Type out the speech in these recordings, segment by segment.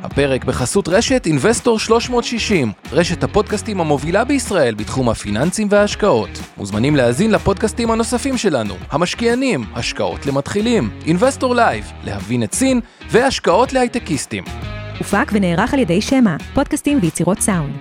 הפרק בחסות רשת Investor 360, רשת הפודקאסטים המובילה בישראל בתחום הפיננסים וההשקעות. מוזמנים להאזין לפודקאסטים הנוספים שלנו, המשקיענים, השקעות למתחילים, Investor Live, להבין את סין והשקעות להייטקיסטים. הופק ונערך על ידי שמה, פודקאסטים ויצירות סאונד.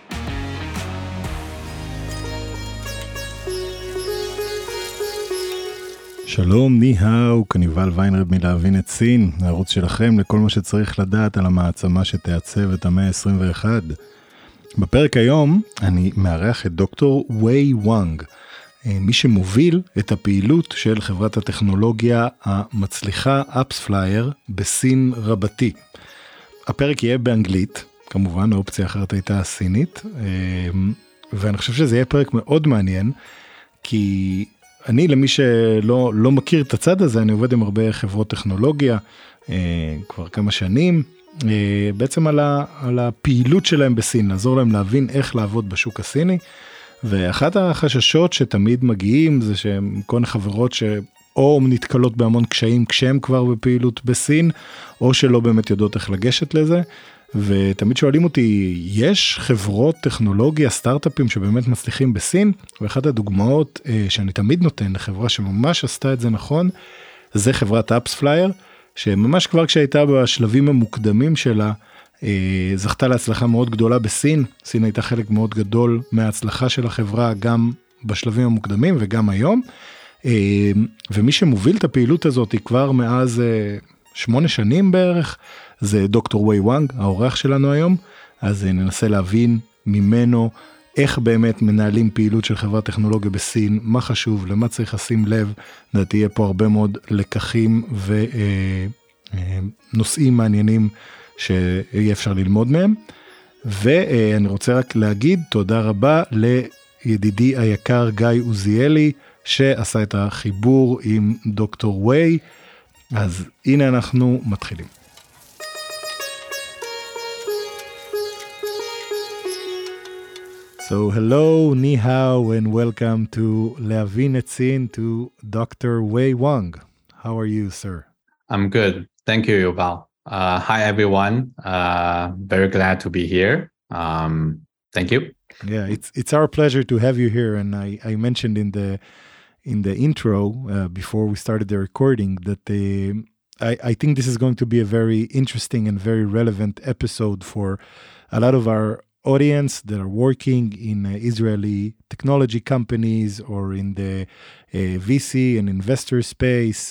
שלום, ניהאו, כניבל ויינרד מלהבין את סין, הערוץ שלכם לכל מה שצריך לדעת על המעצמה שתעצב את המאה ה-21. בפרק היום אני מארח את דוקטור ווי וואנג, מי שמוביל את הפעילות של חברת הטכנולוגיה המצליחה AppsFlyer בסין רבתי. הפרק יהיה באנגלית, כמובן האופציה אחרת הייתה סינית, ואני חושב שזה יהיה פרק מאוד מעניין, כי אני, למי שלא מכיר את הצד הזה, אני עובד עם הרבה חברות טכנולוגיה, כבר כמה שנים, בעצם על הפעילות שלהם בסין, לעזור להם להבין איך לעבוד בשוק הסיני, ואחת החששות שתמיד מגיעים, זה שהם כל חברות או נתקלות בהמון קשיים כשהם כבר בפעילות בסין, או שלא באמת יודעות איך לגשת לזה, ותמיד שואלים אותי, יש חברות טכנולוגיה, סטארט-אפים שבאמת מצליחים בסין? ואחת הדוגמאות שאני תמיד נותן לחברה שממש עשתה את זה נכון, זה חברת AppsFlyer, שממש כבר כשהייתה בשלבים המוקדמים שלה, זכתה להצלחה מאוד גדולה בסין. סין הייתה חלק מאוד גדול מההצלחה של החברה, גם בשלבים המוקדמים וגם היום. ומי שמוביל את הפעילות הזאת כבר מאז 8 שנים בערך, זה דוקטור ווי וואנג, האורח שלנו היום. אז ננסה להבין ממנו איך באמת מנהלים פעילות של חברת טכנולוגיה בסין, מה חשוב, למה צריך לשים לב. תהיה פה הרבה מאוד לקחים ונושאים מעניינים שיהיה אפשר ללמוד מהם. ואני רוצה רק להגיד תודה רבה לידידי היקר גיא עוזיאלי, שעשה את החיבור עם דוקטור ווי. אז הנה אנחנו מתחילים. So hello, ni hao, and welcome to להבין את סין, to Dr. Wei Wang. How are you, sir? I'm good. Thank you, Yuval. Hi, everyone. Very glad to be here. Thank you. Yeah, it's our pleasure to have you here. And I mentioned in the intro before we started the recording that I think this is going to be a very interesting and very relevant episode for a lot of our audience that are working in Israeli technology companies or in the VC and investor space.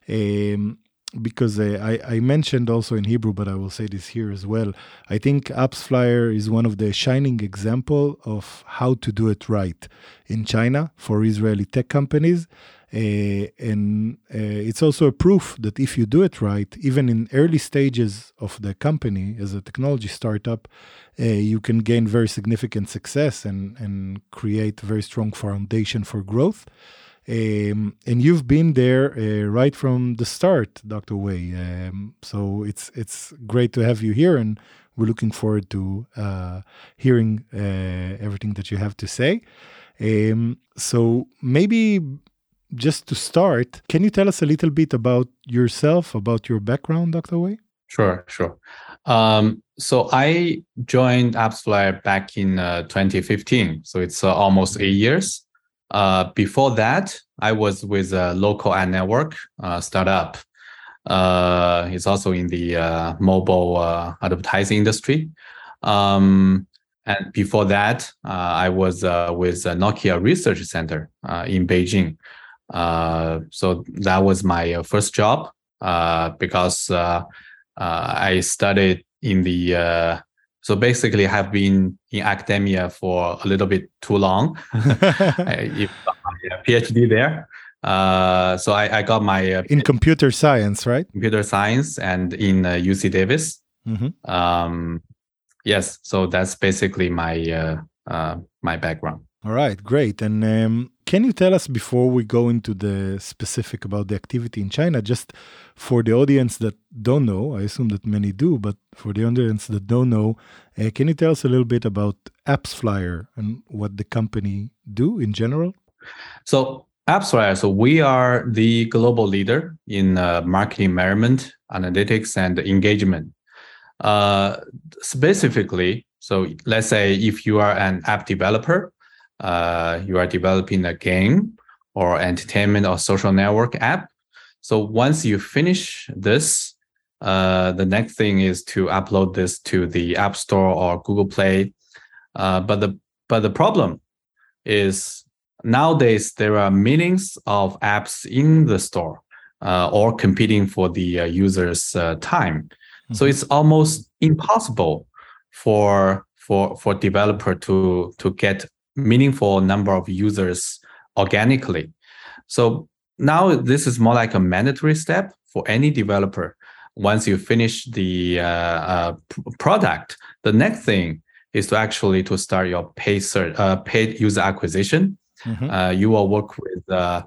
Because I mentioned also in Hebrew, but I will say this here as well. I think AppsFlyer is one of the shining example of how to do it right in China for Israeli tech companies. And it's also a proof that if you do it right, even in early stages of the company as a technology startup, you can gain very significant success and create a very strong foundation for growth. And you've been there right from the start, Dr. Wei. So it's great to have you here, and we're looking forward to hearing everything that you have to say. So maybe just to start, can you tell us a little bit about yourself, about your background, Dr. Wei? Sure. So I joined AppsFlyer back in 2015. So it's almost 8 years. Before that, I was with a local ad network startup. It's also in the mobile advertising industry. And before that, I was with Nokia Research Center in Beijing. So that was my first job because I studied in the so basically I have been in academia for a little bit too long. I got my PhD there. So I got my in computer science, right? Computer science and in UC Davis. Mm-hmm. Yes, so that's basically my background. All right, great. And can you tell us, before we go into the specific about the activity in China, just for the audience that don't know, I assume that many do, but for the audience that don't know, can you tell us a little bit about AppsFlyer and what the company do in general? So AppsFlyer, so we are the global leader in marketing measurement, analytics, and engagement. Specifically, so let's say if you are an app developer, you are developing a game or entertainment or social network app. So once you finish this, the next thing is to upload this to the App Store or Google Play. But the problem is nowadays there are millions of apps in the store, or competing for the users' time. So it's almost impossible for developer to get meaningful number of users organically. So now this is more like a mandatory step for any developer. Once you finish the product, the next thing is to actually to start your paid user acquisition. You will work with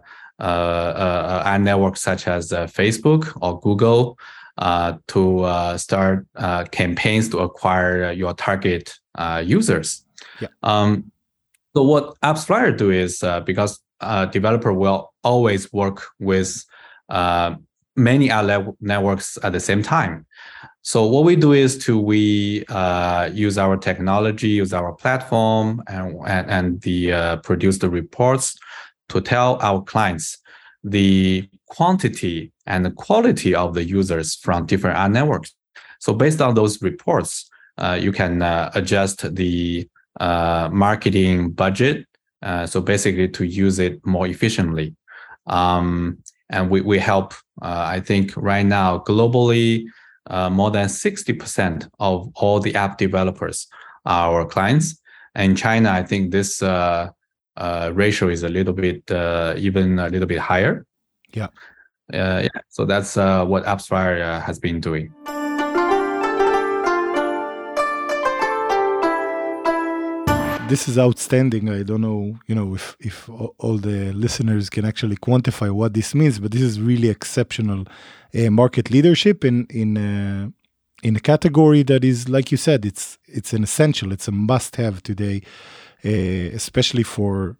ad networks such as Facebook or Google to start campaigns to acquire your target users. So what AppsFlyer do is because developer will always work with many ad networks at the same time. So what we do is we use our technology, use our platform, and produce the reports to tell our clients the quantity and the quality of the users from different ad networks. So based on those reports, you can adjust the marketing budget. So basically to use it more efficiently. And we help, I think right now, globally, more than 60% of all the app developers are our clients. And in China, I think this ratio is a little bit, even a little bit higher. So that's what AppsFlyer has been doing. This is outstanding. I don't know, if all the listeners can actually quantify what this means, but this is really exceptional market leadership in a category that is, like you said, it's an essential, it's a must-have today, especially for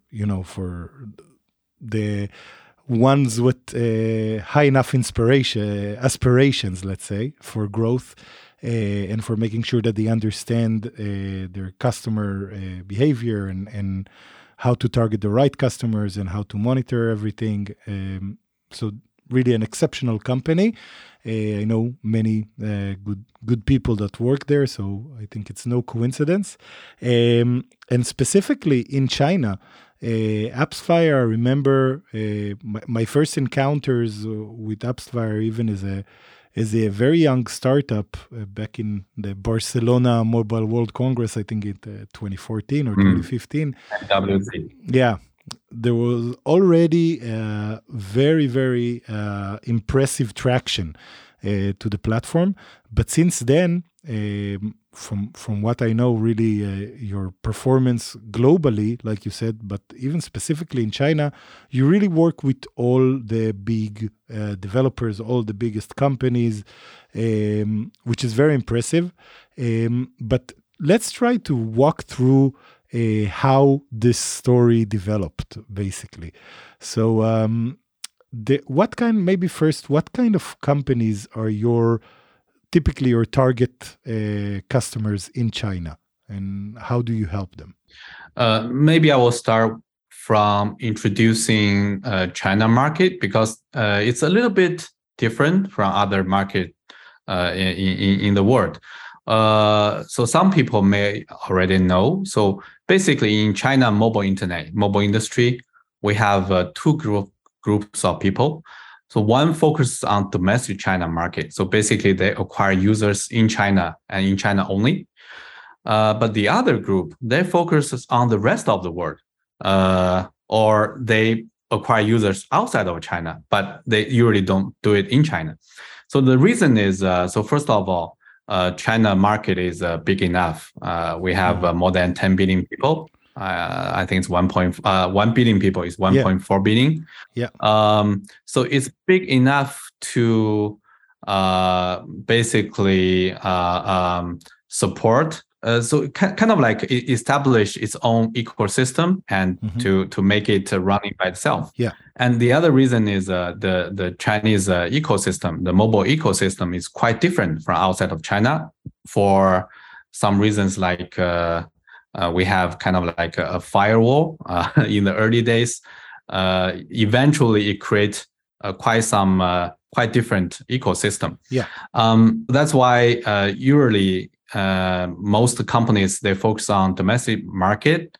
the ones with high enough aspirations, let's say, for growth. And for making sure that they understand their customer behavior and how to target the right customers and how to monitor everything. So really an exceptional company. I know many good people that work there, so I think it's no coincidence. And specifically in China, AppsFlyer, I remember my first encounters with AppsFlyer even as a very young startup back in the Barcelona Mobile World Congress, I think in 2014 or 2015. WC. Yeah, there was already very, very impressive traction to the platform. But since then, from what I know, really your performance globally, like you said, but even specifically in China, you really work with all the big developers, all the biggest companies, which is very impressive. But let's try to walk through how this story developed, basically. So what kind of companies are typically your target customers in China, and how do you help them? Maybe I will start from introducing China market, because it's a little bit different from other market in the world. So some people may already know. So basically in China mobile industry, we have two groups of people. So one focuses on domestic China market. So basically they acquire users in China and in China only. But the other group, they focus on the rest of the world, or they acquire users outside of China, but they usually don't do it in China. So the reason is, so first of all, China market is big enough. We have more than 10 billion people. I think it's 1 billion people is 1.4 billion. Yeah. So it's big enough to basically support. So kind of like establish its own ecosystem and to make it running by itself. Yeah. And the other reason is the Chinese ecosystem, the mobile ecosystem is quite different from outside of China. for some reasons, like we have kind of like a firewall in the early days. Eventually, it creates quite different ecosystem. Yeah. That's why usually most companies, they focus on domestic market.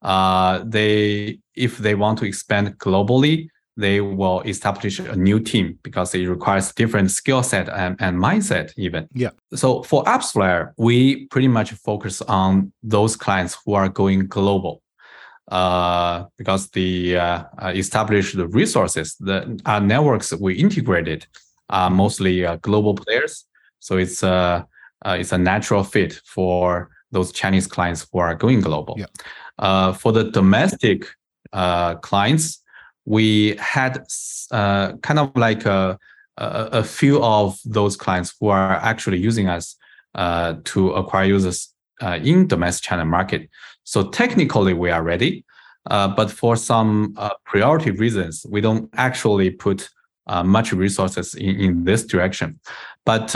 If they want to expand globally, they will establish a new team because it requires different skill set and mindset even. Yeah. So for AppsFlyer, we pretty much focus on those clients who are going global. Because the established resources, our networks we integrated are mostly global players. So it's a natural fit for those Chinese clients who are going global. Yeah. For the domestic clients, we had kind of like a few of those clients who are actually using us to acquire users in domestic China market. So technically we are ready, but for some priority reasons, we don't actually put much resources in this direction. But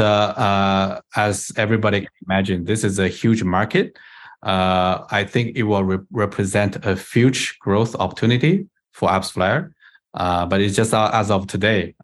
as everybody can imagine, this is a huge market. I think it will represent a huge growth opportunity for AppsFlyer. But it's just as of today,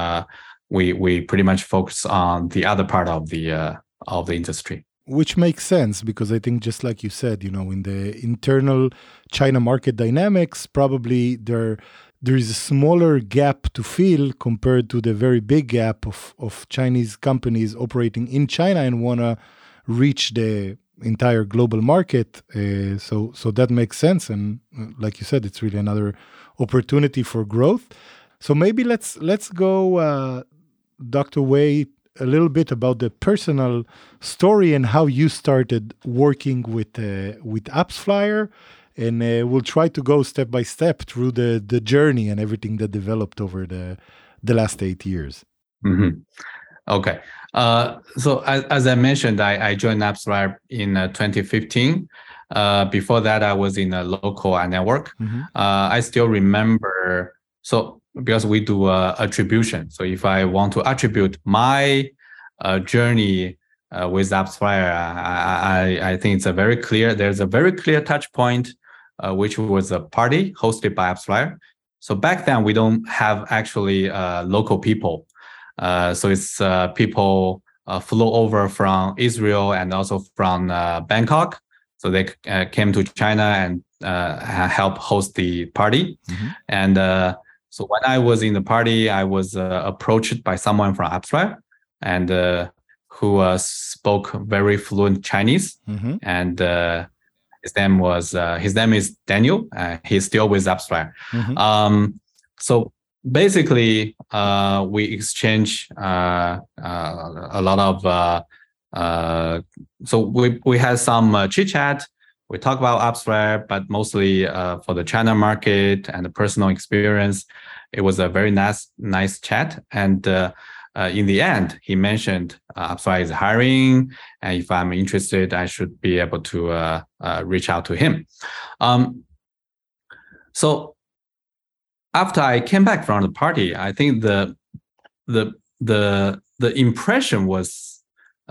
we pretty much focus on the other part of the industry. Which makes sense because I think just like you said, in the internal China market dynamics, probably there is a smaller gap to fill compared to the very big gap of Chinese companies operating in China and want to reach the entire global market. So that makes sense. And like you said, it's really another opportunity for growth. So maybe let's go, Dr. Wei, a little bit about the personal story and how you started working with AppsFlyer. And we'll try to go step by step through the journey and everything that developed over the last 8 years. Mm-hmm. Okay. So as I mentioned, I joined AppsFlyer in 2015. Before that, I was in a local network. Mm-hmm. I still remember. So because we do attribution. So if I want to attribute my journey with AppsFlyer, I think it's there's a very clear touch point, which was a party hosted by AppsFlyer. So back then, we don't have actually local people. So it's people flew over from Israel and also from Bangkok. So they came to China and help host the party. Mm-hmm. And so when I was in the party, I was approached by someone from AppsFlyer and who spoke very fluent Chinese. Mm-hmm. And his name is Daniel. He's still with AppsFlyer. Mm-hmm. So basically, we exchange a lot of. So we had some chit chat. We talk about AppsFlyer, but mostly for the China market and the personal experience. It was a very nice chat. And in the end, he mentioned AppsFlyer is hiring, and if I'm interested, I should be able to reach out to him. So after I came back from the party, I think the impression was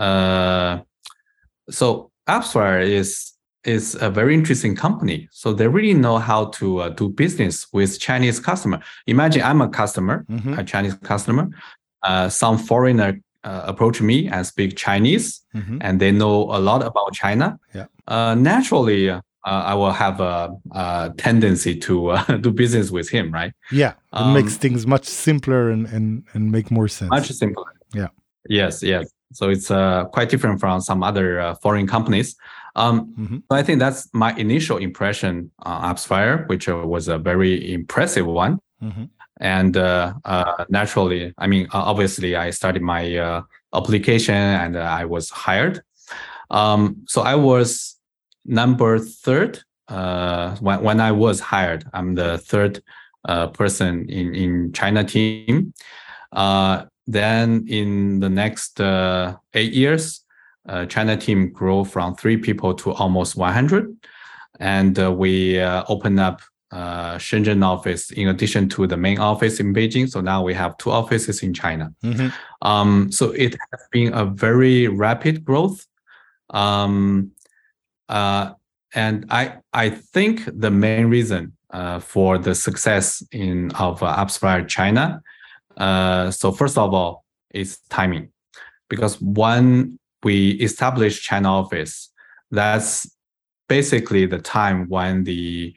so AppsFlyer is a very interesting company. So they really know how to do business with Chinese customer. Imagine I'm a customer, Mm-hmm. a Chinese customer. Some foreigner approach me and speak Chinese, Mm-hmm. and they know a lot about China. Yeah. Naturally, I will have a tendency to do business with him, right? Yeah, it makes things much simpler and make more sense. Much simpler. Yeah. Yes. So it's quite different from some other foreign companies. Mm-hmm. So I think that's my initial impression on AppsFlyer, which was a very impressive one. Mm-hmm. And naturally, I mean, obviously, I started my application and I was hired. So I was number third when I was hired. I'm the third person in China team. Then in the next 8 years, China team grew from 3 people to almost 100. And we opened up Shenzhen office in addition to the main office in Beijing. So now we have 2 offices in China. Mm-hmm. So it has been a very rapid growth. And I think the main reason for the success of AppsFlyer China, so first of all, is timing. Because when we established China office, that's basically the time when the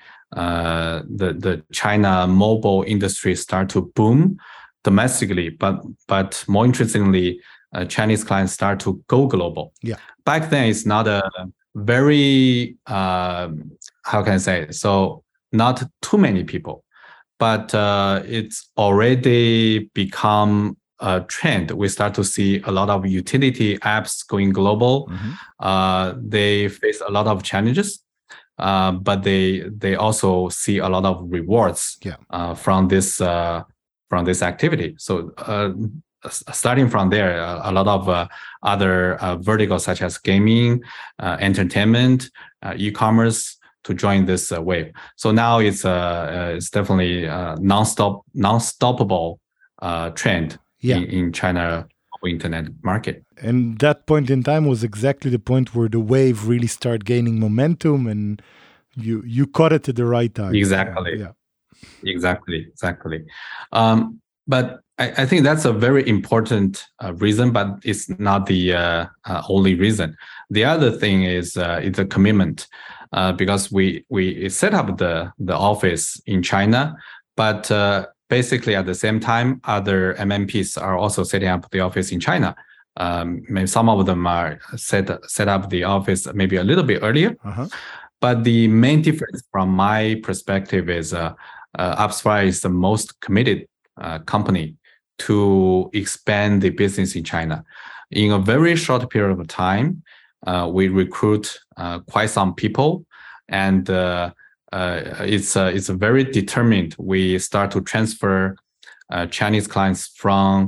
China mobile industry start to boom domestically, but more interestingly, Chinese clients start to go global. Yeah. Back then, it's not a very how can I say? So not too many people, but it's already become a trend. We start to see a lot of utility apps going global. They face a lot of challenges, but they also see a lot of rewards from this activity. So starting from there, a lot of other verticals such as gaming, entertainment, e-commerce to join this wave. So now it's definitely a non-stoppable trend in China internet market. And that point in time was exactly the point where the wave really started gaining momentum, and you caught it at the right time. Exactly. Exactly. But I think that's a very important reason, but it's not the only reason. The other thing is it's a commitment, because we set up the office in China, but basically at the same time, other MNPs are also setting up the office in China. Maybe some of them are set up the office maybe a little bit earlier. But the main difference from my perspective is AppsFlyer is the most committed company to expand the business in China. In a very short period of time, we recruit quite some people, and it's very determined. We start to transfer Chinese clients from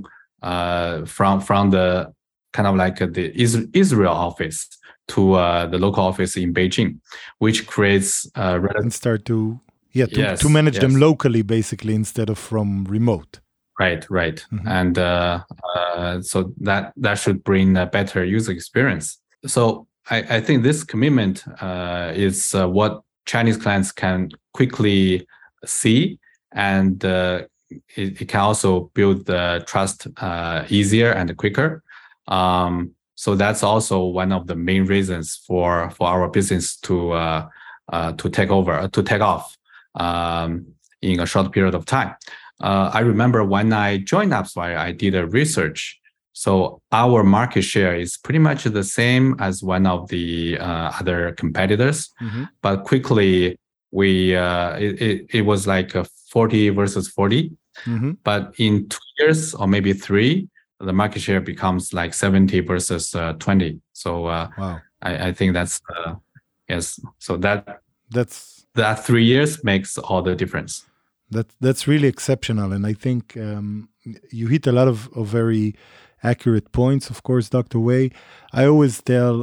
the kind of like the Israel office to the local office in Beijing, which creates and start to manage them locally, basically, instead of from remote. Right. And so that should bring a better user experience. So I think this commitment is what Chinese clients can quickly see, and it can also build the trust easier and quicker. So that's also one of the main reasons for our business to take off in a short period of time. I remember when I joined AppsFlyer, I did a research. So our market share is pretty much the same as one of the other competitors, but quickly it was like a 40 versus 40. But in 2 years or maybe 3, the market share becomes like 70 versus 20. So wow. I think that's yes. So that 3 years makes all the difference. That's really exceptional, and I think you hit a lot of very accurate points. Of course, Dr. Wei, I always tell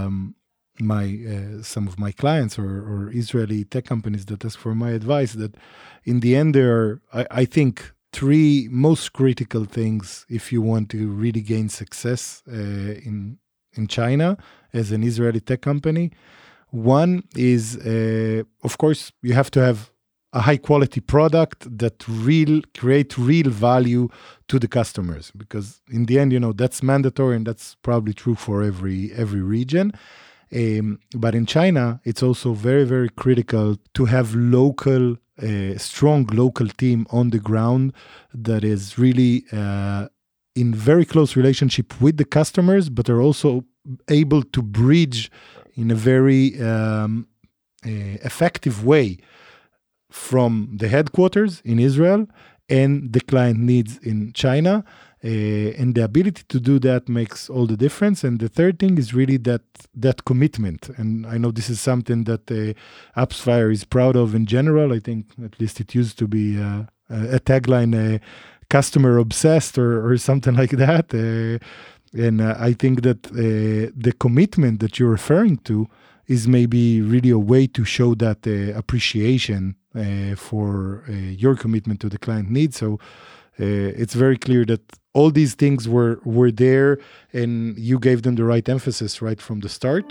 some of my clients or Israeli tech companies that ask for my advice that in the end there are, I think, 3 most critical things if you want to really gain success in China as an Israeli tech company. One is, of course, you have to have a high quality product that create real value to the customers, because in the end, that's mandatory, and that's probably true for every region. But in China, it's also very, very critical to have strong local team on the ground that is really in very close relationship with the customers, but are also able to bridge in a very effective way from the headquarters in Israel and the client needs in China. And the ability to do that makes all the difference. And the third thing is really that commitment. And I know this is something that AppsFlyer is proud of in general. I think at least it used to be a tagline, customer obsessed or something like that. And I think that the commitment that you're referring to is maybe really a way to show that appreciation for your commitment to the client needs. So it's very clear that all these things were there, and you gave them the right emphasis right from the start.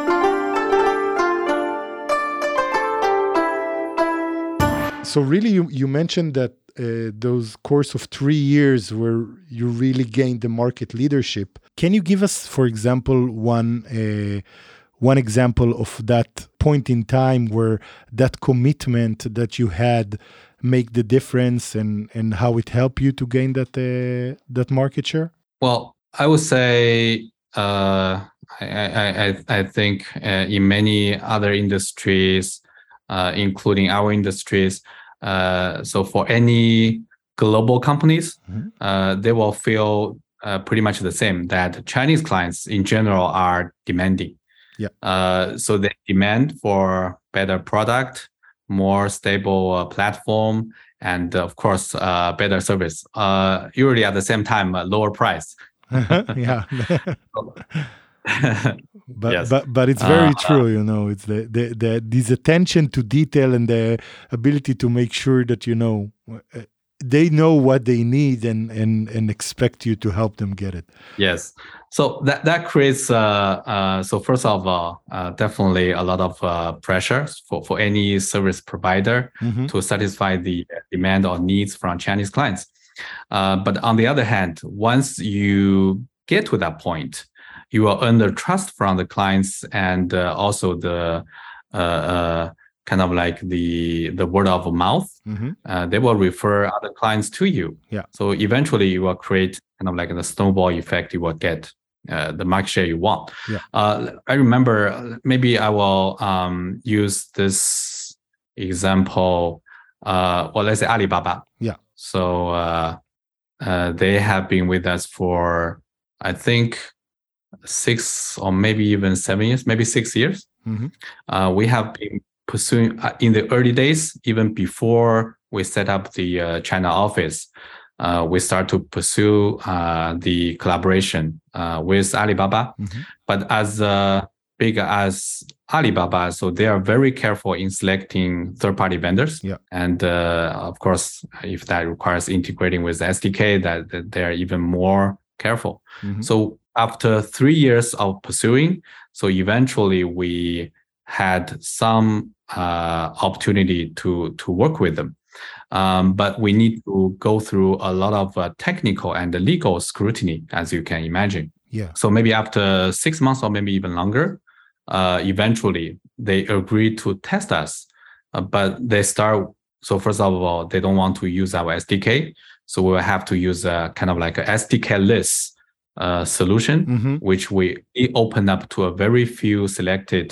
So really, you mentioned that those course of 3 years where you really gained the market leadership. Can you give us, for example, one example of that point in time where that commitment that you had make the difference, and how it helped you to gain that market share? Well, I would say I think in many other industries, including our industries, so for any global companies, they will feel pretty much the same, that Chinese clients in general are demanding. Yeah. So they demand for better product, more stable platform, and of course, better service. Usually at the same time, lower price. Yeah. But Yes. but it's very true, it's the this attention to detail and the ability to make sure that they know what they need and expect you to help them get it. Yes. So that creates so first of all, definitely a lot of pressure for any service provider to satisfy the demand or needs from Chinese clients. But on the other hand, once you get to that point, you will earn the trust from the clients, and also the kind of like the word of mouth. They will refer other clients to you. Yeah. So eventually you will create kind of like the snowball effect. You will get the market share you want. Yeah. I remember, maybe I will use this example. Well, let's say Alibaba. Yeah. So they have been with us for, I think, 6 or maybe even 7 years, maybe 6 years. We have been pursuing in the early days, even before we set up the China office. We start to pursue the collaboration with Alibaba. But as big as Alibaba, so they are very careful in selecting third-party vendors. Yeah. And of course, if that requires integrating with SDK, that they are even more careful. So after 3 years of pursuing, so eventually we had some opportunity to work with them. But we need to go through a lot of technical and legal scrutiny, as you can imagine. Yeah. So maybe after 6 months or maybe even longer, eventually they agree to test us. But they start, so first of all, they don't want to use our SDK. So we will have to use a kind of like a SDK-less solution, which we open up to a very few selected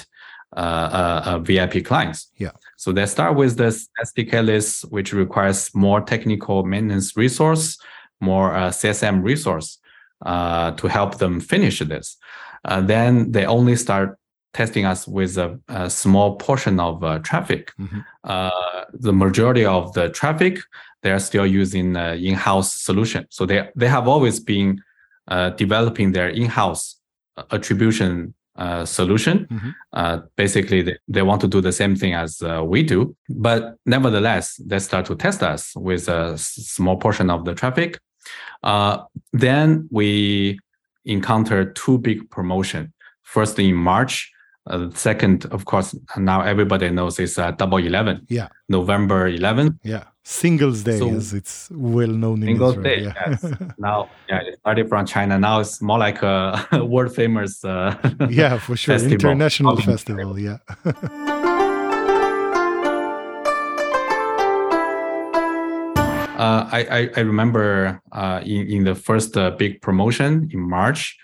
VIP clients. Yeah. So they start with this SDK list, which requires more technical maintenance resource, more CSM resource to help them finish this. Then they only start testing us with a small portion of traffic. The majority of the traffic, they are still using in-house solution. So they have always been developing their in-house attribution solution. Basically, they want to do the same thing as we do. But nevertheless, they start to test us with a small portion of the traffic. Then we encounter 2 big promotions. First in March. Second, of course, now everybody knows is Double 11. Yeah. November 11th. Yeah. Singles Day, So, as it's well known in Singles Israel. Day, Yeah. yes. Now, it started from China. Now it's more like a world famous Yeah, for sure. festival. International festival. Yeah. I remember in the first big promotion in March,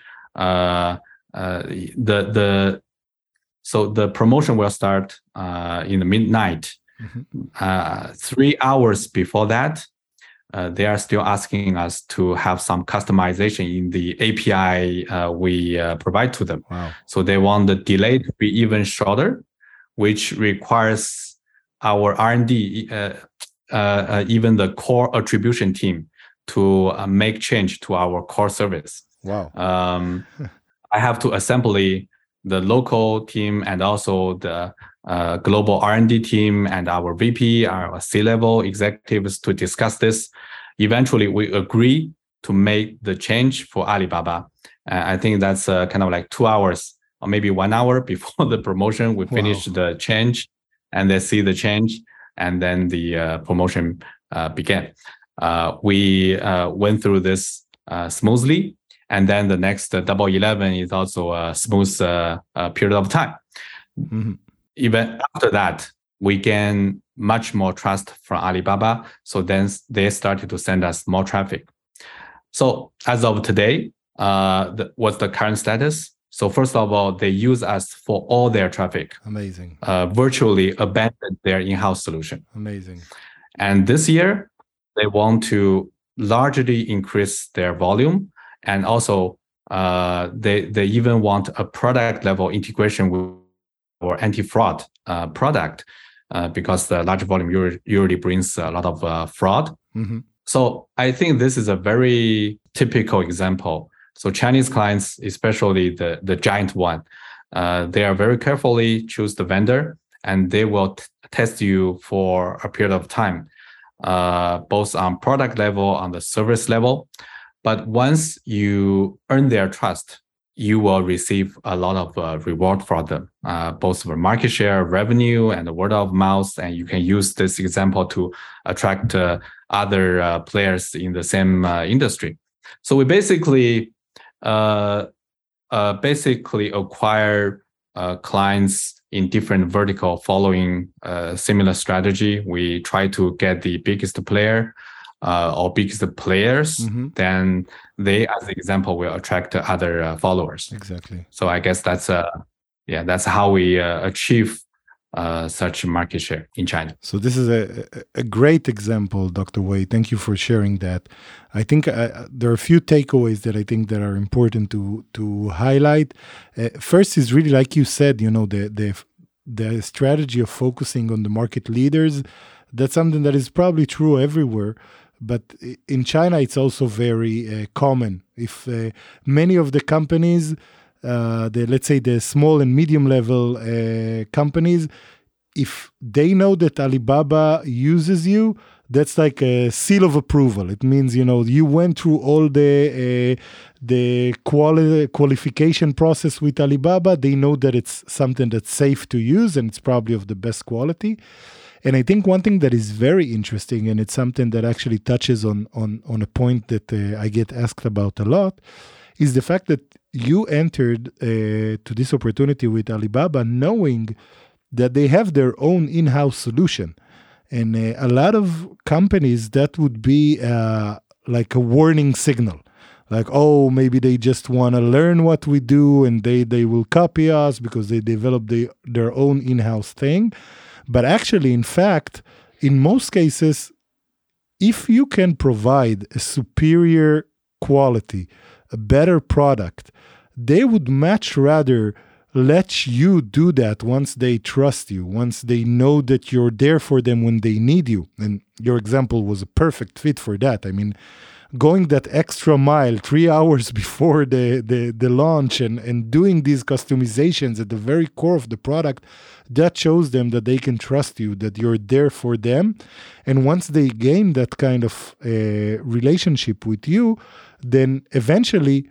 so the promotion will start in the midnight. 3 hours before that, they are still asking us to have some customization in the API we provide to them. Wow. So they want the delay to be even shorter, which requires our R&D, even the core attribution team, to make change to our core service. Wow. I have to assembly the local team and also the global R&D team and our VP, our C-level executives to discuss this. Eventually, we agree to make the change for Alibaba. I think that's kind of like 2 hours or maybe 1 hour before the promotion. We finish the change and they see the change, and then the promotion began. We went through this smoothly. And then the next Double 11 is also a smooth period of time. Mm-hmm. Even after that, we gain much more trust from Alibaba. So then they started to send us more traffic. So as of today, what's the current status? So first of all, they use us for all their traffic. Amazing. Virtually abandoned their in-house solution. Amazing. And this year, they want to largely increase their volume. And also, they even want a product level integration with or anti-fraud product because the large volume usually brings a lot of fraud. Mm-hmm. So I think this is a very typical example. So Chinese clients, especially the giant one, they are very carefully choose the vendor, and they will test you for a period of time, both on product level, on the service level. But once you earn their trust, you will receive a lot of reward from them, both for market share, revenue, and the word of mouth. And you can use this example to attract other players in the same industry. So we basically acquire clients in different vertical following a similar strategy. We try to get the biggest player or biggest players, mm-hmm. then they, as an example, will attract other followers. Exactly. So I guess that's how we achieve such market share in China. So this is a great example, Dr. Wei. Thank you for sharing that. I think there are a few takeaways that I think that are important to highlight. First is really, like you said, the strategy of focusing on the market leaders. That's something that is probably true everywhere. But in China, it's also very common. If many of the companies, let's say the small and medium level companies, if they know that Alibaba uses you, that's like a seal of approval. It means, you went through all the qualification process with Alibaba. They know that it's something that's safe to use and it's probably of the best quality. And I think one thing that is very interesting, and it's something that actually touches on a point that I get asked about a lot, is the fact that you entered to this opportunity with Alibaba knowing that they have their own in-house solution. And a lot of companies, that would be like a warning signal. Like, oh, maybe they just want to learn what we do and they will copy us because they develop their own in-house thing. But actually, in fact, in most cases, if you can provide a superior quality, a better product, they would much rather let you do that once they trust you, once they know that you're there for them when they need you. And your example was a perfect fit for that. I mean, going that extra mile 3 hours before the launch and doing these customizations at the very core of the product, that shows them that they can trust you, that you're there for them. And once they gain that kind of relationship with you, then eventually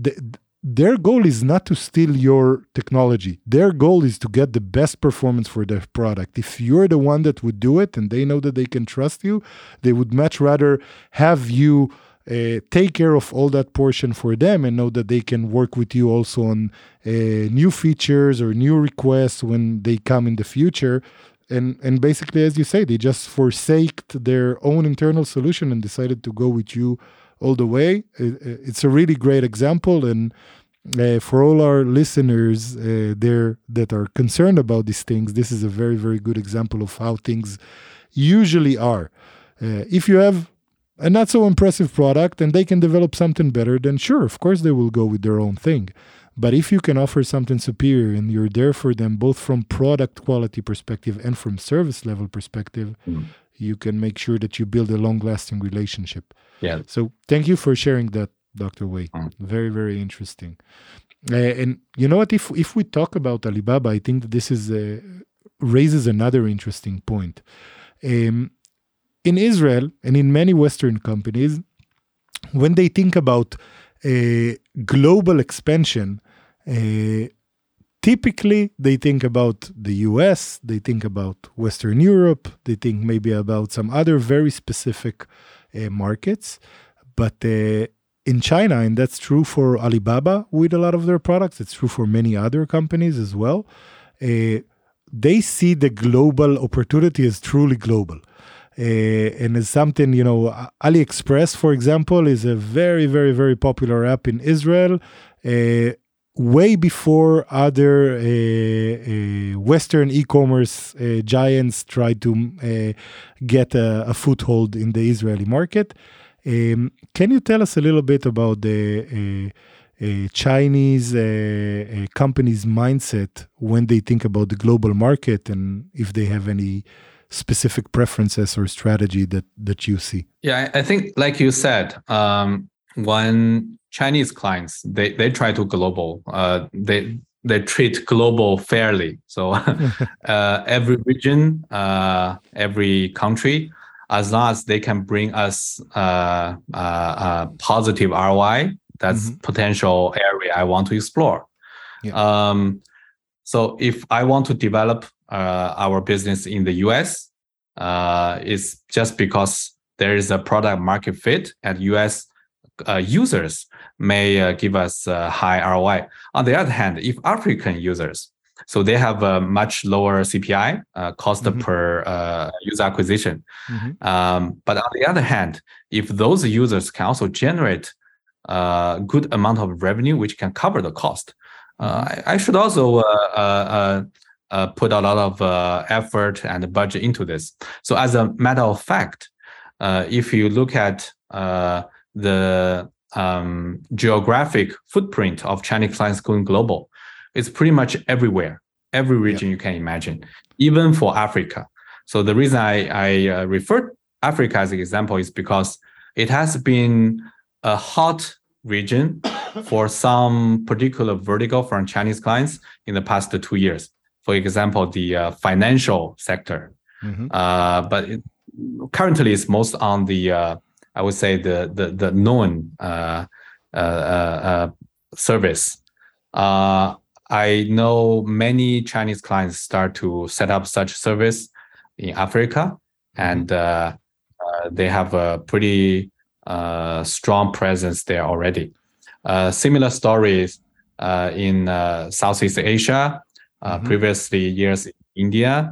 their goal is not to steal your technology. Their goal is to get the best performance for their product. If you're the one that would do it and they know that they can trust you, they would much rather have you take care of all that portion for them and know that they can work with you also on new features or new requests when they come in the future. And basically, as you say, they just forsaked their own internal solution and decided to go with you all the way. It's a really great example. And for all our listeners there that are concerned about these things, this is a very, very good example of how things usually are. If you have a not so impressive product and they can develop something better, then sure, of course they will go with their own thing. But if you can offer something superior and you're there for them, both from product quality perspective and from service level perspective, you can make sure that you build a long-lasting relationship. Yeah. So thank you for sharing that, Dr. Wei. Very, very interesting. And you know what? If we talk about Alibaba, I think that this is raises another interesting point. In Israel and in many Western companies, when they think about global expansion, typically they think about the US, they think about Western Europe, they think maybe about some other very specific markets. But in China, and that's true for Alibaba with a lot of their products, it's true for many other companies as well, they see the global opportunity as truly global. And as something, AliExpress, for example, is a very, very, very popular app in Israel, way before other Western e-commerce giants tried to get a foothold in the Israeli market. Can you tell us a little bit about the Chinese companies' mindset when they think about the global market, and if they have any specific preferences or strategy that you see? Yeah, I think like you said, when Chinese clients, they try to global, they treat global fairly. So every region, every country, as long as they can bring us a positive ROI, that's potential area I want to explore. Yeah. So if I want to develop our business in the US, it's just because there is a product market fit, and US users may give us a high ROI. On the other hand, if African users, so they have a much lower CPI, cost per user acquisition. But on the other hand, if those users can also generate a good amount of revenue, which can cover the cost, I should also put a lot of effort and budget into this. So as a matter of fact, if you look at the geographic footprint of Chinese clients going global, it's pretty much everywhere, every region you can imagine, even for Africa. So the reason I refer Africa as an example is because it has been a hot region for some particular vertical from Chinese clients in the past 2 years. For example, the financial sector. But currently it's most on the, I would say, the known service. I know many Chinese clients start to set up such service in Africa, and they have a pretty strong presence there already. Similar stories in Southeast Asia, previously years in India,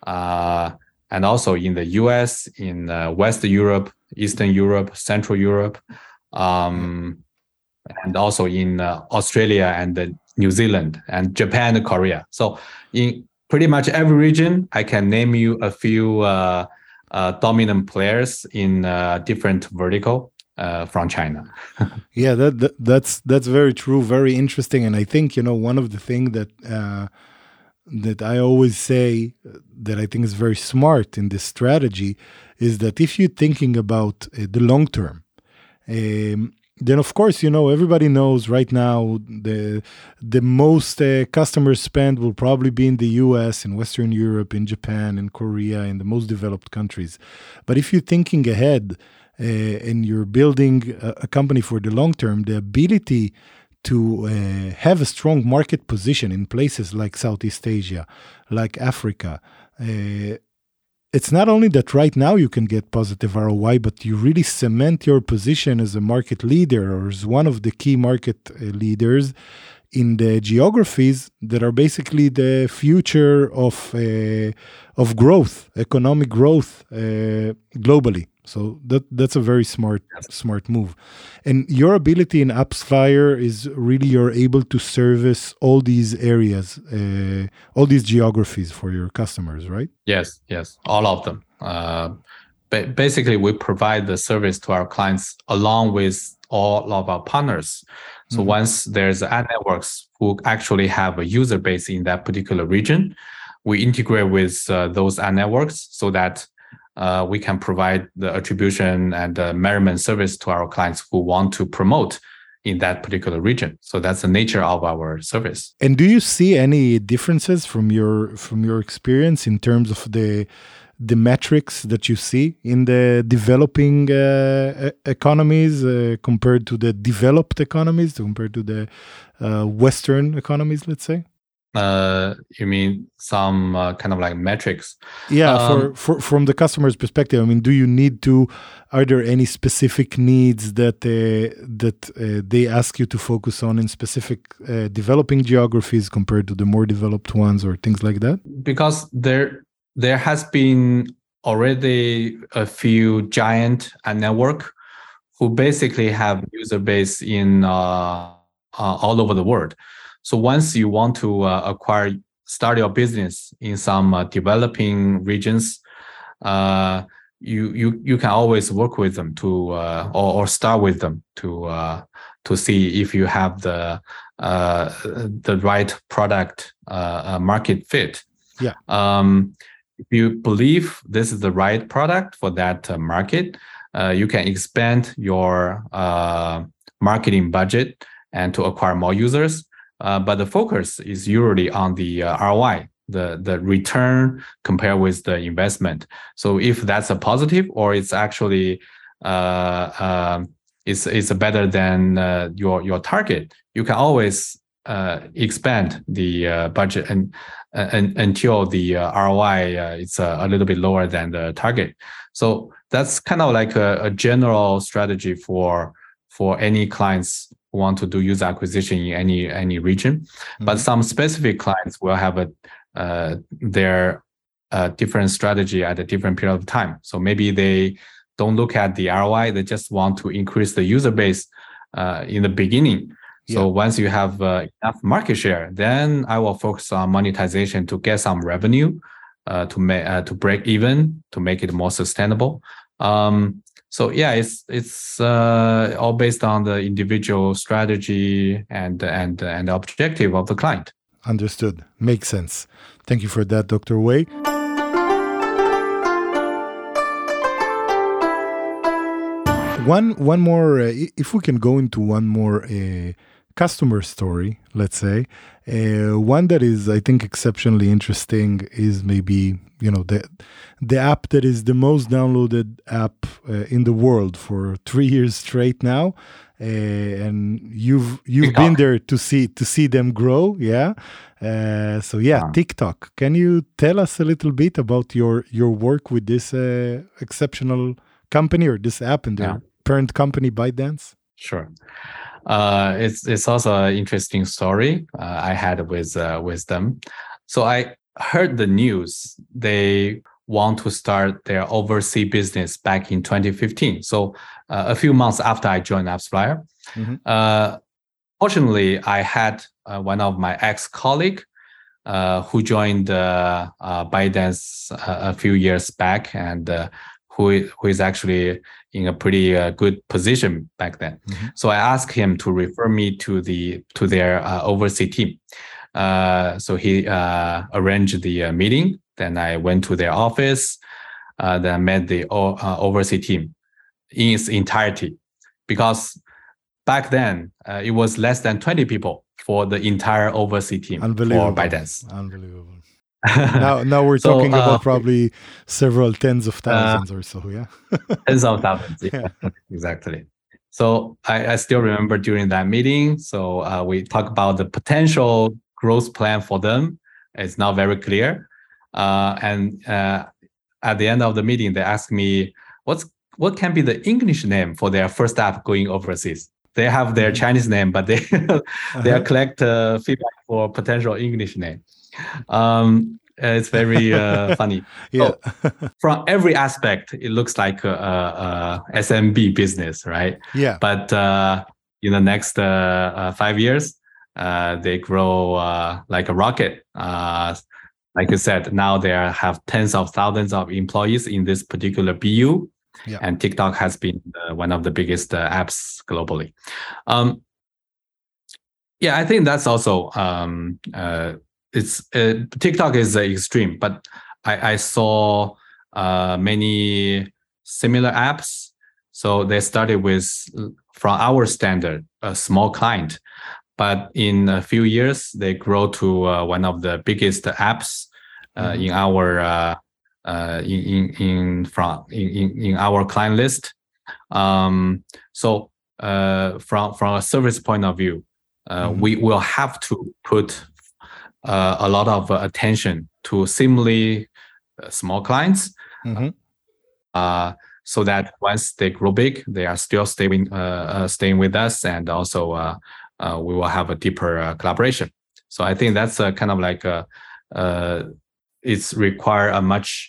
and also in the US, in West Europe, Eastern Europe, Central Europe, and also in Australia and New Zealand and Japan and Korea. So in pretty much every region, I can name you a few dominant players in different vertical from China. Yeah, that's very true, very interesting. And I think, one of the things that I always say that I think is very smart in this strategy is that if you're thinking about the long term, then of course, everybody knows right now the most customer spend will probably be in the US, in Western Europe, in Japan, in Korea, in the most developed countries. But if you're thinking ahead and you're building a company for the long term, the ability to have a strong market position in places like Southeast Asia, like Africa, it's not only that right now you can get positive ROI, but you really cement your position as a market leader or as one of the key market leaders in the geographies that are basically the future of growth, economic growth globally. So that's a very smart move. And your ability in AppsFlyer is really you're able to service all these areas, all these geographies for your customers, right? Yes, all of them. Basically, we provide the service to our clients along with all of our partners. So once there's ad networks who actually have a user base in that particular region, we integrate with those ad networks so that we can provide the attribution and measurement service to our clients who want to promote in that particular region. So that's the nature of our service. And do you see any differences from your experience in terms of the the metrics that you see in the developing economies compared to the developed economies, compared to the Western economies, let's say? You mean some kind of like metrics? Yeah, from the customer's perspective, I mean, are there any specific needs that they ask you to focus on in specific developing geographies compared to the more developed ones or things like that? Because there has been already a few giant network who basically have user base in all over the world. So once you want to start your business in some developing regions, you can always work with them to or start with them to see if you have the right product market fit. Yeah. If you believe this is the right product for that market, you can expand your marketing budget and to acquire more users. But the focus is usually on the ROI, the return compared with the investment. So if that's a positive or it's actually it's better than your target, you can always expand the budget and until the ROI it's a little bit lower than the target. So that's kind of like a general strategy for any clients who want to do user acquisition in any region. Mm-hmm. But some specific clients will have their different strategy at a different period of time. So maybe they don't look at the ROI; they just want to increase the user base in the beginning. So once you have enough market share, then I will focus on monetization to get some revenue to break even, to make it more sustainable. So yeah, it's all based on the individual strategy and the objective of the client. Understood. Makes sense. Thank you for that, Dr. Wei. One more, if we can go into one more customer story, let's say, one that is, I think, exceptionally interesting is maybe, the app that is the most downloaded app in the world for 3 years straight now. And you've TikTok. Been there to see them grow. Yeah. So TikTok. Can you tell us a little bit about your work with this exceptional company or this app and their parent company, ByteDance? Sure. It's also an interesting story I had with them. So I heard the news they want to start their overseas business back in 2015. So a few months after I joined AppsFlyer. Mm-hmm. Fortunately, I had one of my ex-colleague who joined ByteDance a few years back and who is actually in a pretty good position back then. Mm-hmm. So I asked him to refer me to their overseas team. So he arranged the meeting. Then I went to their office. Then I met the overseas team in its entirety, because back then it was less than 20 people for the entire overseas team for ByteDance. Unbelievable. now we're talking about probably several tens of thousands or so, yeah? Tens of thousands, yeah. Exactly. So I still remember during that meeting, so we talked about the potential growth plan for them. It's not very clear. And at the end of the meeting, they asked me, what can be the English name for their first app going overseas? They have their Chinese name, but they collect feedback for potential English name. It's very funny. Yeah. So, from every aspect, it looks like a SMB business, right? Yeah. But in the next 5 years, they grow like a rocket. Like you said, now they have tens of thousands of employees in this particular BU. Yeah. And TikTok has been one of the biggest apps globally. I think that's also TikTok is extreme, but I saw many similar apps. So they started from our standard, a small client, but in a few years they grow to one of the biggest apps in our in our client list. So from a service point of view, we will have to put a lot of attention to similarly small clients, so that once they grow big, they are still staying with us, and also we will have a deeper collaboration. So I think that's a kind of like it's require a much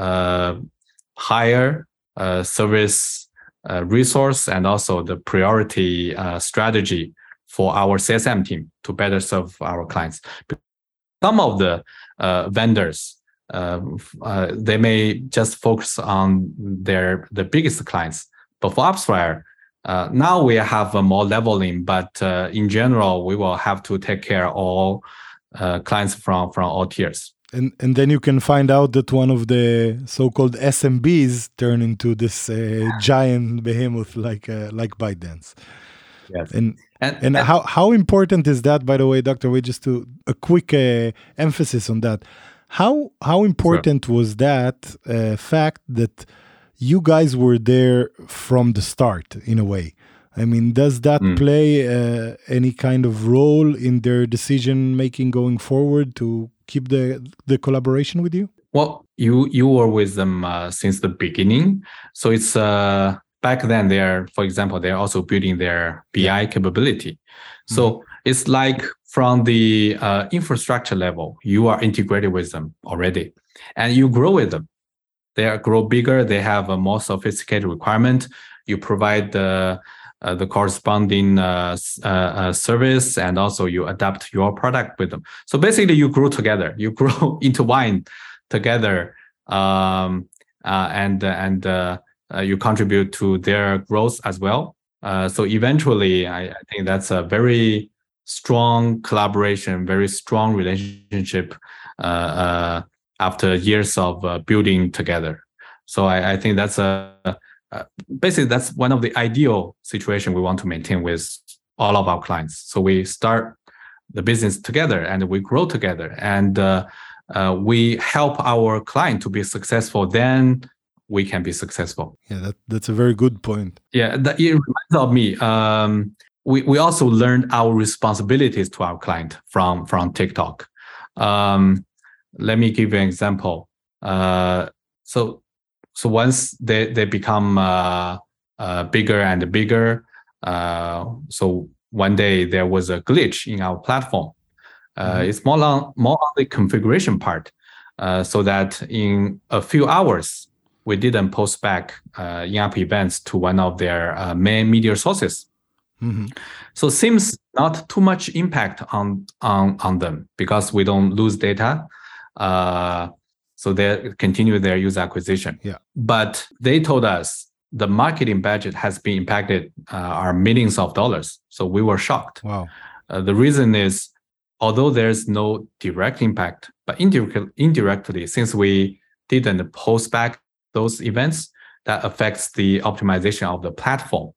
higher service resource and also the priority strategy for our CSM team to better serve our clients. Some of the vendors, they may just focus on the biggest clients, but for AppsFlyer, now we have a more leveling, but in general, we will have to take care of all clients from all tiers. And then you can find out that one of the so-called SMBs turn into this giant behemoth like ByteDance. Yes. And how important is that, by the way, Dr. Wei, just to a quick emphasis on that. How important was that fact that you guys were there from the start, in a way? I mean, does that play any kind of role in their decision-making going forward to keep the collaboration with you? Well, you were with them since the beginning. So it's back then for example, they're also building their BI capability. So it's like from the infrastructure level, you are integrated with them already, and you grow with them. They grow bigger. They have a more sophisticated requirement. You provide the corresponding service, and also you adapt your product with them. So basically, you grow together. You grow intertwined together, and you contribute to their growth as well. So eventually, I think that's a very strong collaboration, very strong relationship after years of building together. So I think that's basically that's one of the ideal situation we want to maintain with all of our clients. So we start the business together and we grow together, and we help our client to be successful. Then we can be successful. Yeah, that's a very good point. Yeah, it reminds of me. We also learned our responsibilities to our client from TikTok. Let me give you an example. So once they become bigger and bigger, so one day there was a glitch in our platform. It's more on the configuration part, so that in a few hours, we didn't post back in-app events to one of their main media sources. So seems not too much impact on them because we don't lose data. So they continue their user acquisition. Yeah. But they told us the marketing budget has been impacted are millions of dollars. So we were shocked. Wow. The reason is, although there's no direct impact, but indirectly, since we didn't post back those events, that affects the optimization of the platform.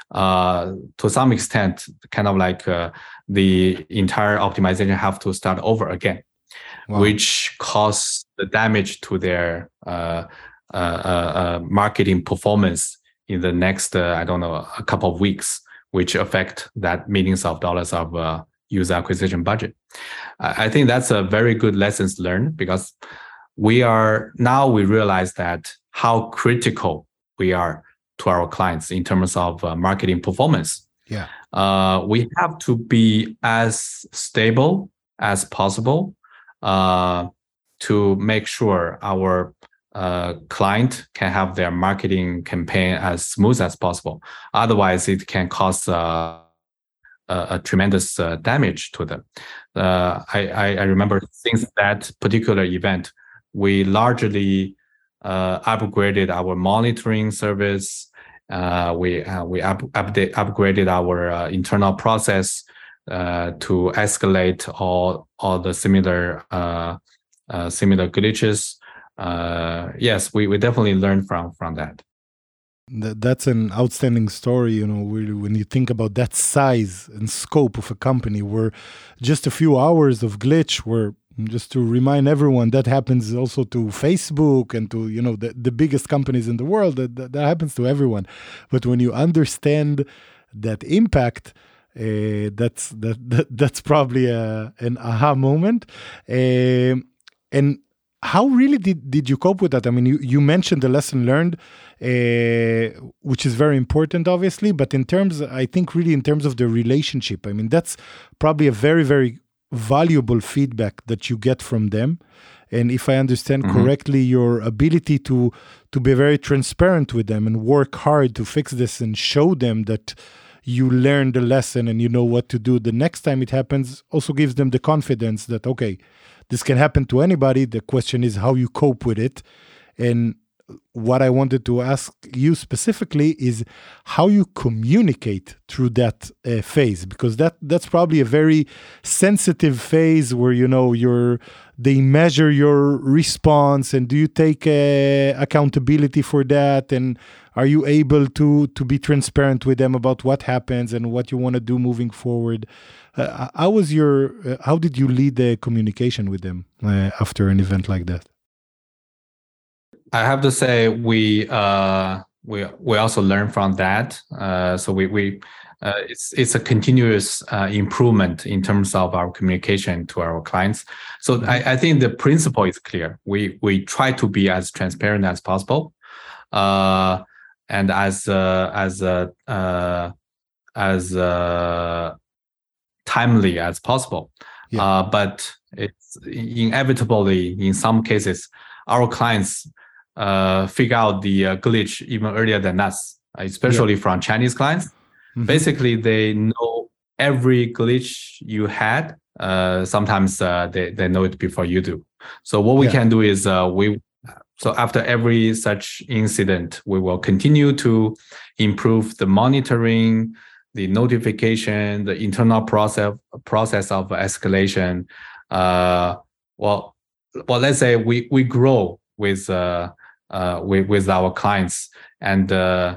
To some extent, kind of like the entire optimization have to start over again. Wow. Which causes the damage to their marketing performance in the next, a couple of weeks, which affect that millions of dollars of user acquisition budget. I think that's a very good lessons learned, because we realize that how critical we are to our clients in terms of marketing performance. Yeah. We have to be as stable as possible to make sure our client can have their marketing campaign as smooth as possible. Otherwise, it can cause a tremendous damage to them. I remember since that particular event, we largely upgraded our monitoring service. We upgraded our internal process to escalate all the similar glitches. Yes, we definitely learned from that. That's an outstanding story, when you think about that size and scope of a company, where just a few hours of glitch were Just to remind everyone, that happens also to Facebook and to, the biggest companies in the world. That happens to everyone. But when you understand that impact, that's probably an aha moment. And how really did you cope with that? I mean, you mentioned the lesson learned, which is very important, obviously. But in terms of the relationship, I mean, that's probably a very, very valuable feedback that you get from them. And if I understand correctly, your ability to be very transparent with them and work hard to fix this and show them that you learned the lesson and you know what to do the next time it happens also gives them the confidence that, okay, this can happen to anybody. The question is how you cope with it. And what I wanted to ask you specifically is how you communicate through that phase, because that's probably a very sensitive phase where, they measure your response, and do you take accountability for that? And are you able to be transparent with them about what happens and what you want to do moving forward? How did you lead the communication with them after an event like that? I have to say we also learn from that. So it's a continuous improvement in terms of our communication to our clients. So I think the principle is clear. We try to be as transparent as possible, and as timely as possible. Yeah. But it's inevitably in some cases our clients figure out the glitch even earlier than us, especially from Chinese clients. Basically, they know every glitch you had. Sometimes they know it before you do. So what we can do is so after every such incident, we will continue to improve the monitoring, the notification, the internal process of escalation. Well, let's say we grow with our clients, and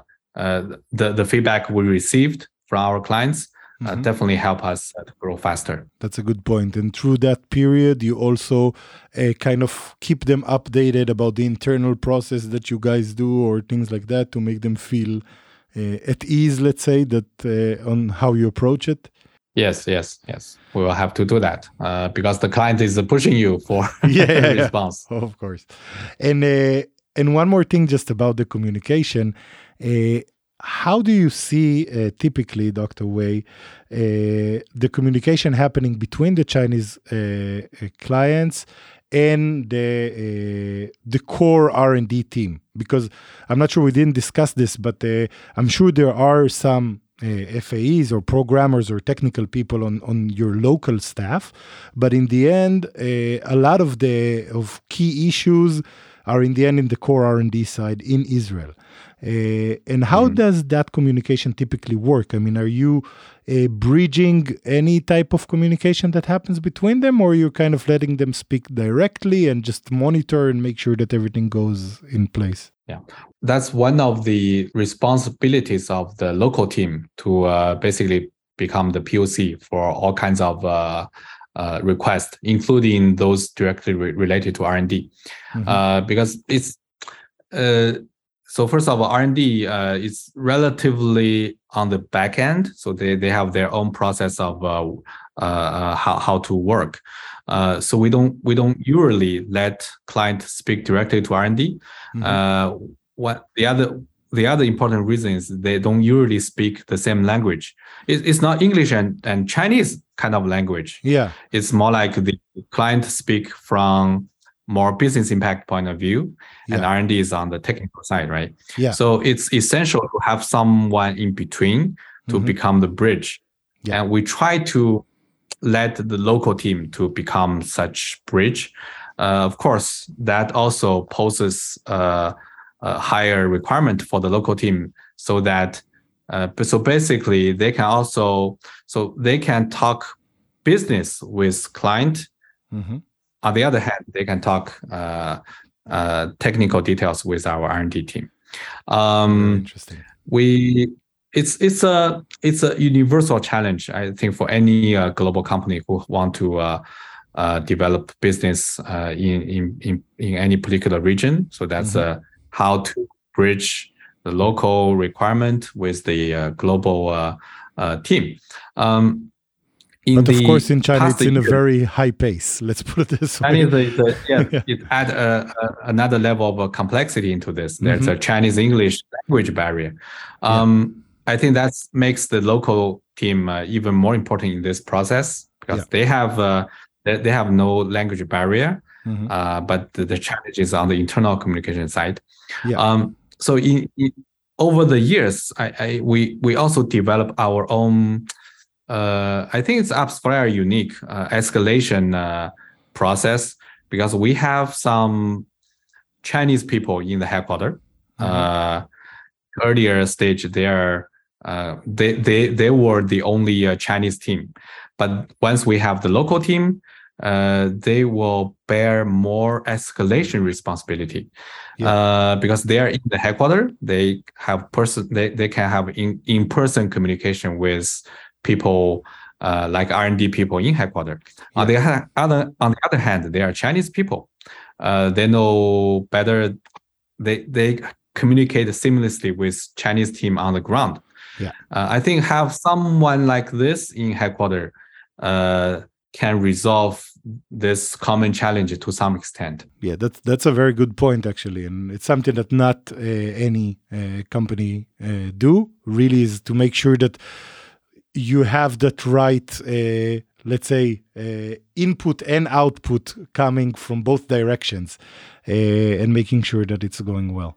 the feedback we received from our clients definitely help us to grow faster. That's a good point. And through that period, you also kind of keep them updated about the internal process that you guys do or things like that to make them feel at ease, let's say, that on how you approach it. Yes. We will have to do that because the client is pushing you for response. Yeah. Of course. And one more thing just about the communication. How do you see typically, Dr. Wei, the communication happening between the Chinese clients and the core R&D team? Because I'm not sure we didn't discuss this, but I'm sure there are some FAEs or programmers or technical people on your local staff, but in the end, a lot of key issues are in the end in the core R&D side in Israel. And how does that communication typically work? I mean, are you bridging any type of communication that happens between them, or you're kind of letting them speak directly and just monitor and make sure that everything goes in place? Yeah, that's one of the responsibilities of the local team to basically become the POC for all kinds of requests, including those directly related to R&D. Because it's so first of all, R&D is relatively on the back end, so they have their own process of how to work. So we don't usually let client speak directly to R&D. What the other important reason is they don't usually speak the same language. It's not English and Chinese kind of language. Yeah, it's more like the client speak from more business impact point of view, and R&D is on the technical side, right? Yeah. So it's essential to have someone in between to become the bridge. Yeah. And we try to let the local team to become such bridge. Of course, that also poses a higher requirement for the local team, so that so basically they can talk business with client. On the other hand, they can talk technical details with our R&D team. Interesting. It's a universal challenge, I think, for any global company who want to develop business in any particular region. So that's how to bridge the local requirement with the global team. But of course, in China, it's in a very high pace. Let's put it this way. It add another level of complexity into this. There's a Chinese-English language barrier. I think that makes the local team even more important in this process because they have no language barrier, but the challenge is on the internal communication side. So over the years, we also develop our own. I think it's AppsFlyer unique escalation process because we have some Chinese people in the headquarters. Earlier stage, they were the only Chinese team, but once we have the local team, they will bear more escalation responsibility because they are in the headquarters. They have they can have in-person communication with people like R&D people in headquarters. On the other hand, they are Chinese people. They know better. They communicate seamlessly with Chinese team on the ground. I think have someone like this in headquarters can resolve this common challenge to some extent. Yeah, that's a very good point actually, and it's something that not any company do. Really, is to make sure that you have that right, let's say, input and output coming from both directions, and making sure that it's going well.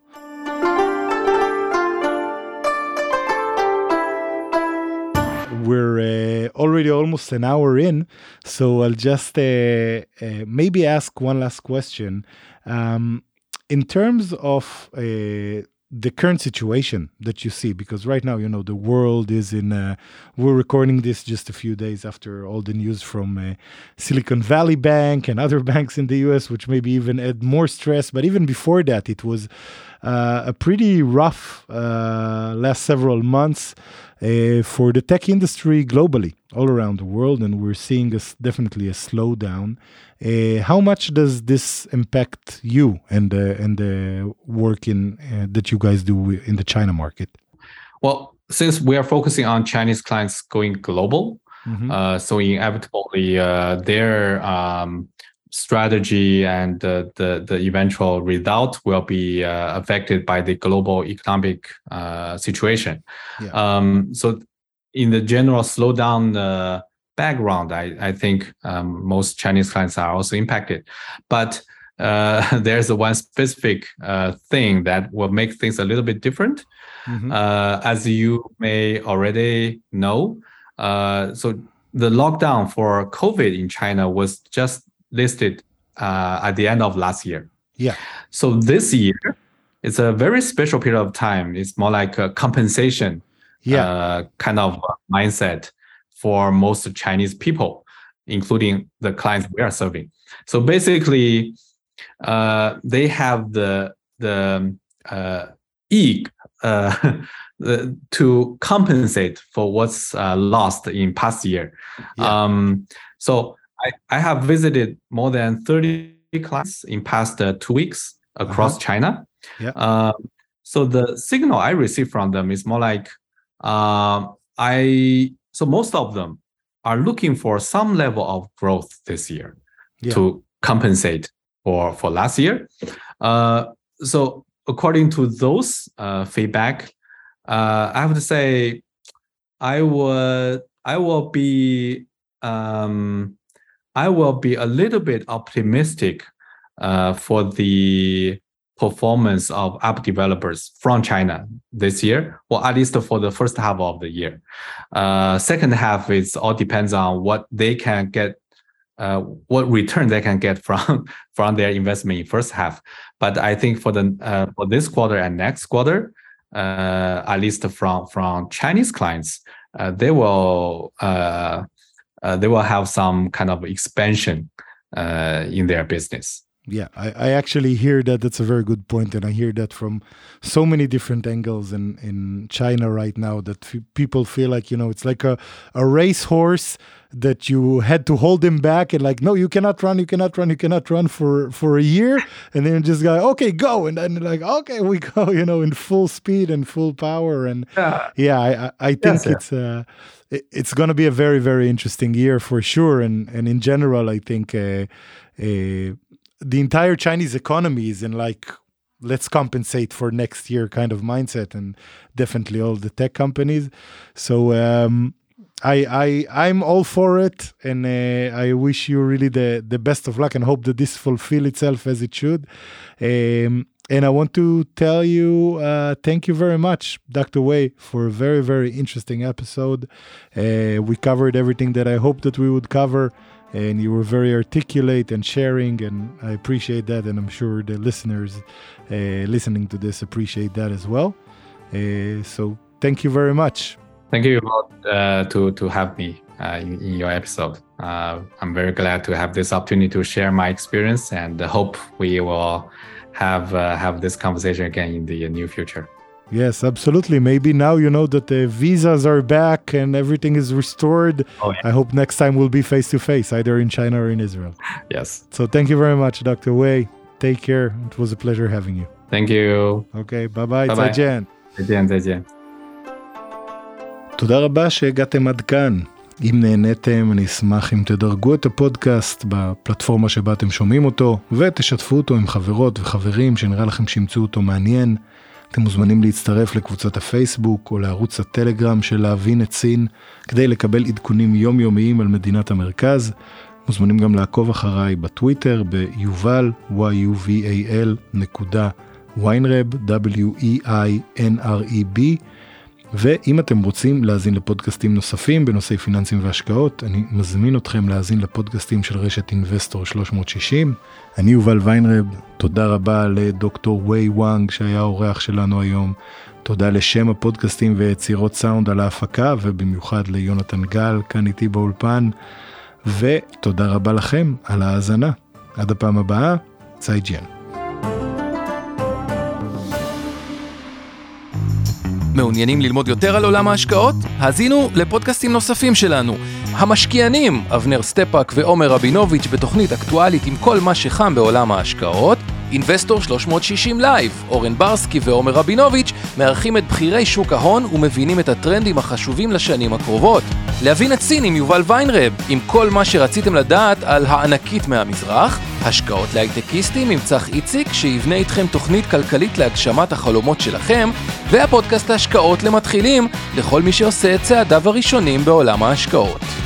We're already almost an hour in, so I'll just maybe ask one last question. In terms of the current situation that you see, because right now, the world is in, we're recording this just a few days after all the news from Silicon Valley Bank and other banks in the US, which maybe even add more stress. But even before that, it was a pretty rough last several months for the tech industry globally, all around the world. And we're seeing definitely a slowdown. How much does this impact you and the work that you guys do in the China market? Well, since we are focusing on Chinese clients going global, so inevitably their strategy and the eventual result will be affected by the global economic situation. So in the general slowdown background, I think most Chinese clients are also impacted. But there's one specific thing that will make things a little bit different. As you may already know, so the lockdown for COVID in China was just listed at the end of last year. So this year, it's a very special period of time. It's more like a compensation kind of mindset for most Chinese people, including the clients we are serving. So basically, they have the to compensate for what's lost in past year. So I have visited more than 30 clients in past 2 weeks across China. So the signal I receive from them is more like so most of them are looking for some level of growth this year to compensate for last year. So according to those feedback, I have to say I will be a little bit optimistic for the performance of app developers from China this year, or at least for the first half of the year. Second half, it all depends on what they can get, what return they can get from their investment in first half. But I think for this quarter and next quarter, at least from Chinese clients, they will have some kind of expansion in their business. Yeah, I actually hear that. That's a very good point, and I hear that from so many different angles in China right now, that people feel like, it's like a racehorse that you had to hold him back and like, no, you cannot run for a year, and then just go, okay, go, and then like, okay, we go, in full speed and full power, and I think it's going to be a very, very interesting year for sure, and in general, I think the entire Chinese economy is in like, let's compensate for next year kind of mindset, and definitely all the tech companies. So I'm all for it, and I wish you really the best of luck, and hope that this fulfill itself as it should. And I want to tell you, thank you very much, Dr. Wei, for a very, very interesting episode. We covered everything that I hoped that we would cover, and you were very articulate and sharing, and I appreciate that, and I'm sure the listeners listening to this appreciate that as well. So thank you very much. Thank you to have me in your episode. I'm very glad to have this opportunity to share my experience, and hope we will have this conversation again in the near future. Yes, absolutely. Maybe now that the visas are back and everything is restored. Oh, yeah. I hope next time we'll be face-to-face, either in China or in Israel. Yes. So thank you very much, Dr. Wei. Take care. It was a pleasure having you. Thank you. Okay, bye-bye. זייג'ן. זייג'ן. תודה רבה שהגעתם עד כאן. אם נהניתם, אני אשמח אם תדרגו את הפודקאסט בפלטפורמה שבה אתם שומעים אותו, ותשתפו אותו עם חברות וחברים שנראה לכם שימצאו אותו מעניין. אתם מוזמנים להצטרף לקבוצת הפייסבוק או לערוץ הטלגרם של להבין את סין, כדי לקבל עדכונים יומיומיים על מדינת המרכז. מוזמנים גם לעקוב אחריי בטוויטר ביובל, yuval.weinreb, WEINREB. ואם אתם רוצים להאזין לפודקאסטים נוספים בנושאי פיננסים והשקעות, אני מזמין אתכם להאזין לפודקאסטים של רשת אינבסטור 360. אני יובל ויינרב, תודה רבה לדוקטור ווי וואנג שהיה האורח שלנו היום, תודה לשם הפודקאסטים ויצירות סאונד על ההפקה, ובמיוחד ליונתן גל כאן איתי באולפן, ותודה רבה לכם על ההאזנה. עד הפעם הבאה, זייג'ן. מעוניינים ללמוד יותר על עולם ההשקעות? האזינו לפודקאסטים נוספים שלנו. המשקיענים, אבנר סטפאק ועומר רבינוביץ' בתוכנית אקטואלית עם כל מה שחם בעולם ההשקעות. אינבסטור 360 לייב, אורן ברסקי ועומר רבינוביץ' מארחים את בחירי שוק ההון ומבינים את הטרנדים החשובים לשנים הקרובות. להבין את סין עם יובל ויינרב, עם כל מה שרציתם לדעת על הענקית מהמזרח. השקעות להייטקיסטים עם צח איציק שיבנה איתכם תוכנית כלכלית להגשמת החלומות שלכם, והפודקאסט ההשקעות למתחילים לכל מי שעושה את צעדיו הראשונים בעולם ההשקעות.